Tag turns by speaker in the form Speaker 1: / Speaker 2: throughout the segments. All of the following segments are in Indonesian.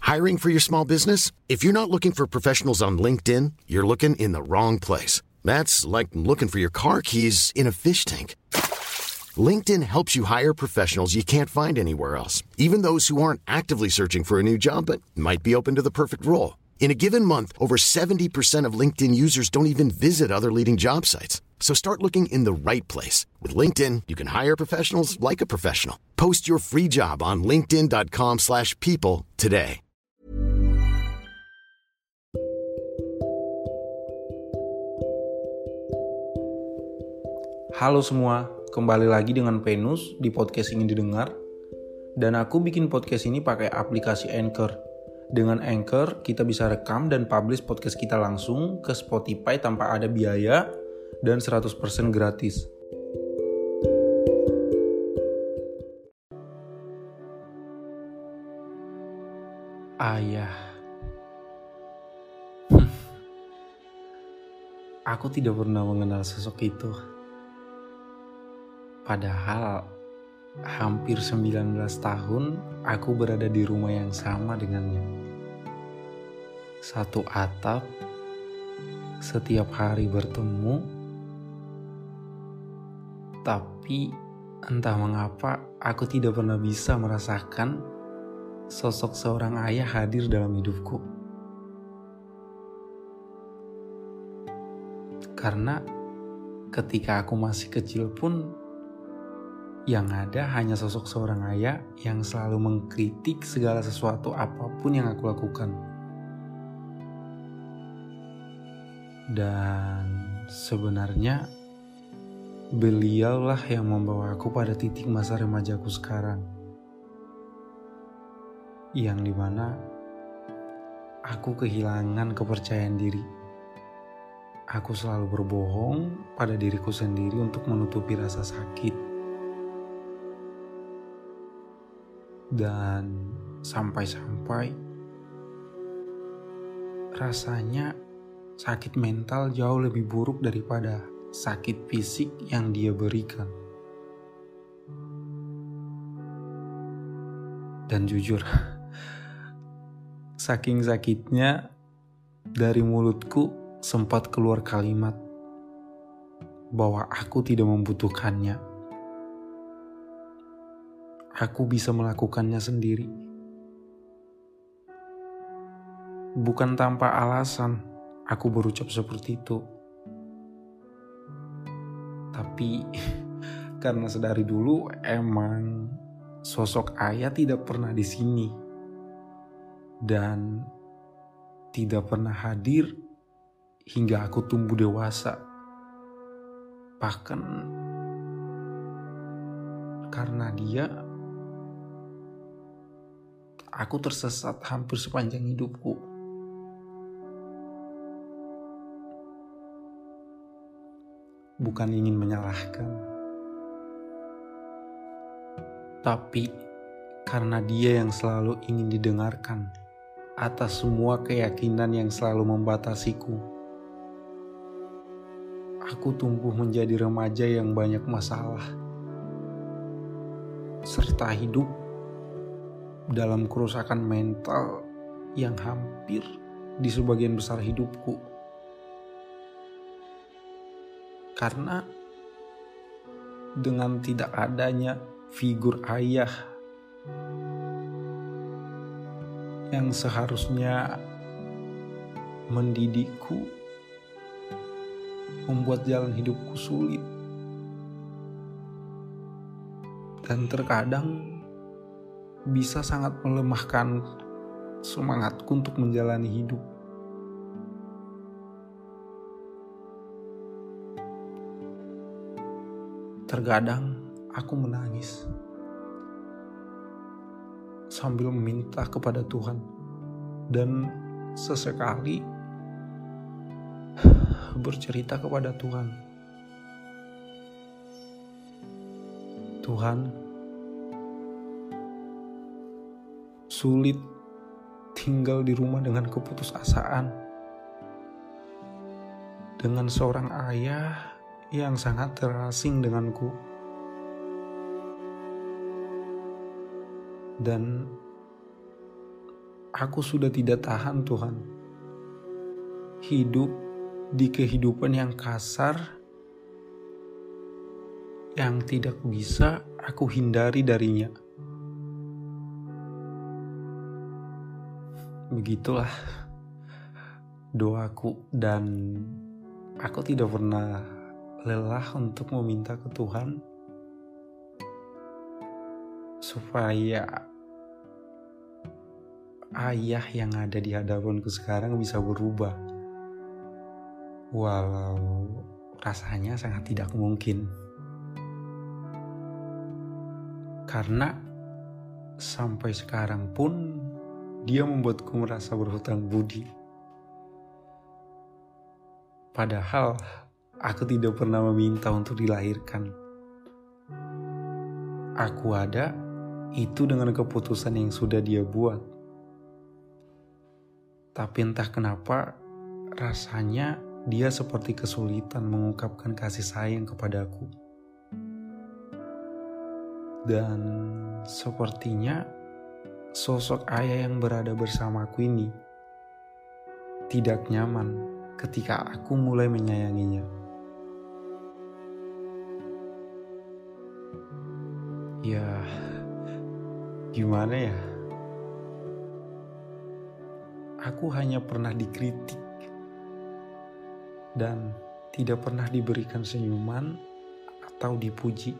Speaker 1: Hiring for your small business? If you're not looking for professionals on LinkedIn, you're looking in the wrong place. That's like looking for your car keys in a fish tank. LinkedIn helps you hire professionals you can't find anywhere else, even those who aren't actively searching for a new job but might be open to the perfect role. In a given month, over 70% of LinkedIn users don't even visit other leading job sites. So start looking in the right place. With LinkedIn, you can hire professionals like a professional. Post your free job on linkedin.com/people today.
Speaker 2: Halo semua, kembali lagi dengan Venus di podcast Ingin Didengar. Dan aku bikin podcast ini pakai aplikasi Anchor. Dengan Anchor, kita bisa rekam dan publish podcast kita langsung ke Spotify tanpa ada biaya dan 100% gratis. Ayah. Aku tidak pernah mengenal sosok itu. Padahal hampir 19 tahun aku berada di rumah yang sama dengannya. Satu atap, setiap hari bertemu, tapi entah mengapa aku tidak pernah bisa merasakan sosok seorang ayah hadir dalam hidupku. Karena ketika aku masih kecil pun, yang ada hanya sosok seorang ayah yang selalu mengkritik segala sesuatu apapun yang aku lakukan. Dan sebenarnya beliaulah yang membawa aku pada titik masa remajaku sekarang. Yang dimana aku kehilangan kepercayaan diri. Aku selalu berbohong pada diriku sendiri untuk menutupi rasa sakit. Dan sampai-sampai rasanya sakit mental jauh lebih buruk daripada sakit fisik yang dia berikan. Dan jujur, saking sakitnya dari mulutku sempat keluar kalimat bahwa aku tidak membutuhkannya. Aku bisa melakukannya sendiri. Bukan tanpa alasan aku berucap seperti itu. Tapi karena sedari dulu emang sosok ayah tidak pernah di sini. Dan tidak pernah hadir hingga aku tumbuh dewasa. Bahkan karena dia, aku tersesat hampir sepanjang hidupku. Bukan ingin menyalahkan, tapi karena dia yang selalu ingin didengarkan atas semua keyakinan yang selalu membatasiku. Aku tumbuh menjadi remaja yang banyak masalah, serta hidup dalam kerusakan mental yang hampir di sebagian besar hidupku. Karena dengan tidak adanya figur ayah yang seharusnya mendidikku, membuat jalan hidupku sulit. Dan terkadang bisa sangat melemahkan semangatku untuk menjalani hidup. Terkadang aku menangis sambil meminta kepada Tuhan, dan sesekali bercerita kepada Tuhan. Tuhan, sulit tinggal di rumah dengan keputusasaan, dengan seorang ayah yang sangat terasing denganku. Dan aku sudah tidak tahan Tuhan. Hidup di kehidupan yang kasar, yang tidak bisa aku hindari darinya. Begitulah doaku, dan aku tidak pernah lelah untuk meminta ke Tuhan supaya ayah yang ada di hadapanku sekarang bisa berubah. Walau rasanya sangat tidak mungkin. Karena sampai sekarang pun dia membuatku merasa berhutang budi. Padahal aku tidak pernah meminta untuk dilahirkan. Aku ada itu dengan keputusan yang sudah dia buat. Tapi entah kenapa rasanya dia seperti kesulitan mengungkapkan kasih sayang kepadaku. Dan sepertinya sosok ayah yang berada bersamaku ini tidak nyaman ketika aku mulai menyayanginya. Ya, gimana ya? Aku hanya pernah dikritik dan tidak pernah diberikan senyuman atau dipuji.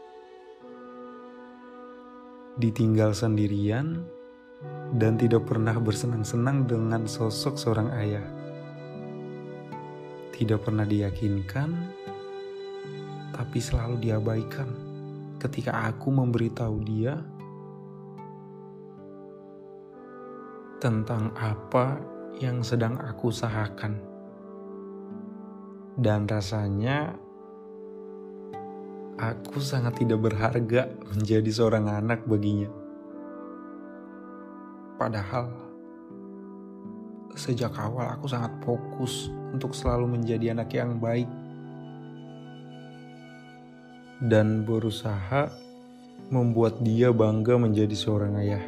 Speaker 2: Ditinggal sendirian dan tidak pernah bersenang-senang dengan sosok seorang ayah. Tidak pernah diyakinkan, tapi selalu diabaikan ketika aku memberitahu dia tentang apa yang sedang aku usahakan. Dan rasanya aku sangat tidak berharga menjadi seorang anak baginya. Padahal sejak awal aku sangat fokus untuk selalu menjadi anak yang baik dan berusaha membuat dia bangga menjadi seorang ayah.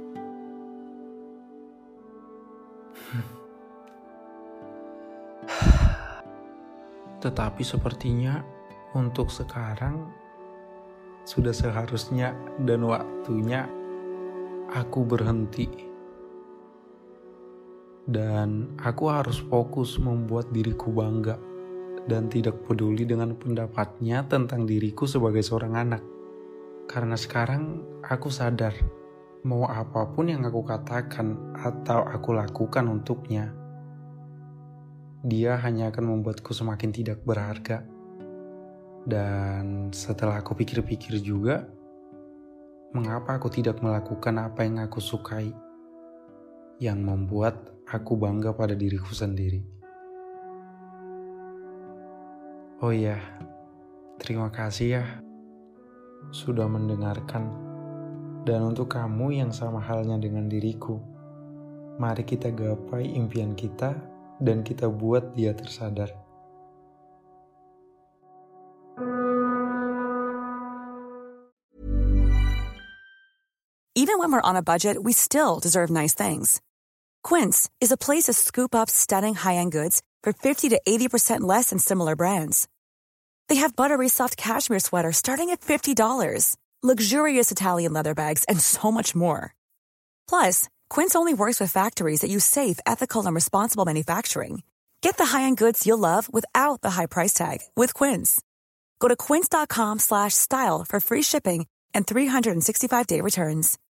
Speaker 2: Tetapi sepertinya untuk sekarang sudah seharusnya dan waktunya aku berhenti. Dan aku harus fokus membuat diriku bangga dan tidak peduli dengan pendapatnya tentang diriku sebagai seorang anak. Karena sekarang aku sadar, mau apapun yang aku katakan atau aku lakukan untuknya, dia hanya akan membuatku semakin tidak berharga. Dan setelah aku pikir-pikir juga, mengapa aku tidak melakukan apa yang aku sukai, yang membuat aku bangga pada diriku sendiri. Oh iya, terima kasih ya sudah mendengarkan. Dan untuk kamu yang sama halnya dengan diriku, mari kita gapai impian kita dan kita buat dia tersadar.
Speaker 3: Even when we're on a budget, we still deserve nice things. Quince is a place to scoop up stunning high-end goods for 50 to 80% less than similar brands. They have buttery soft cashmere sweaters starting at $50, luxurious Italian leather bags, and so much more. Plus, Quince only works with factories that use safe, ethical, and responsible manufacturing. Get the high-end goods you'll love without the high price tag with Quince. Go to quince.com/style for free shipping and 365-day returns.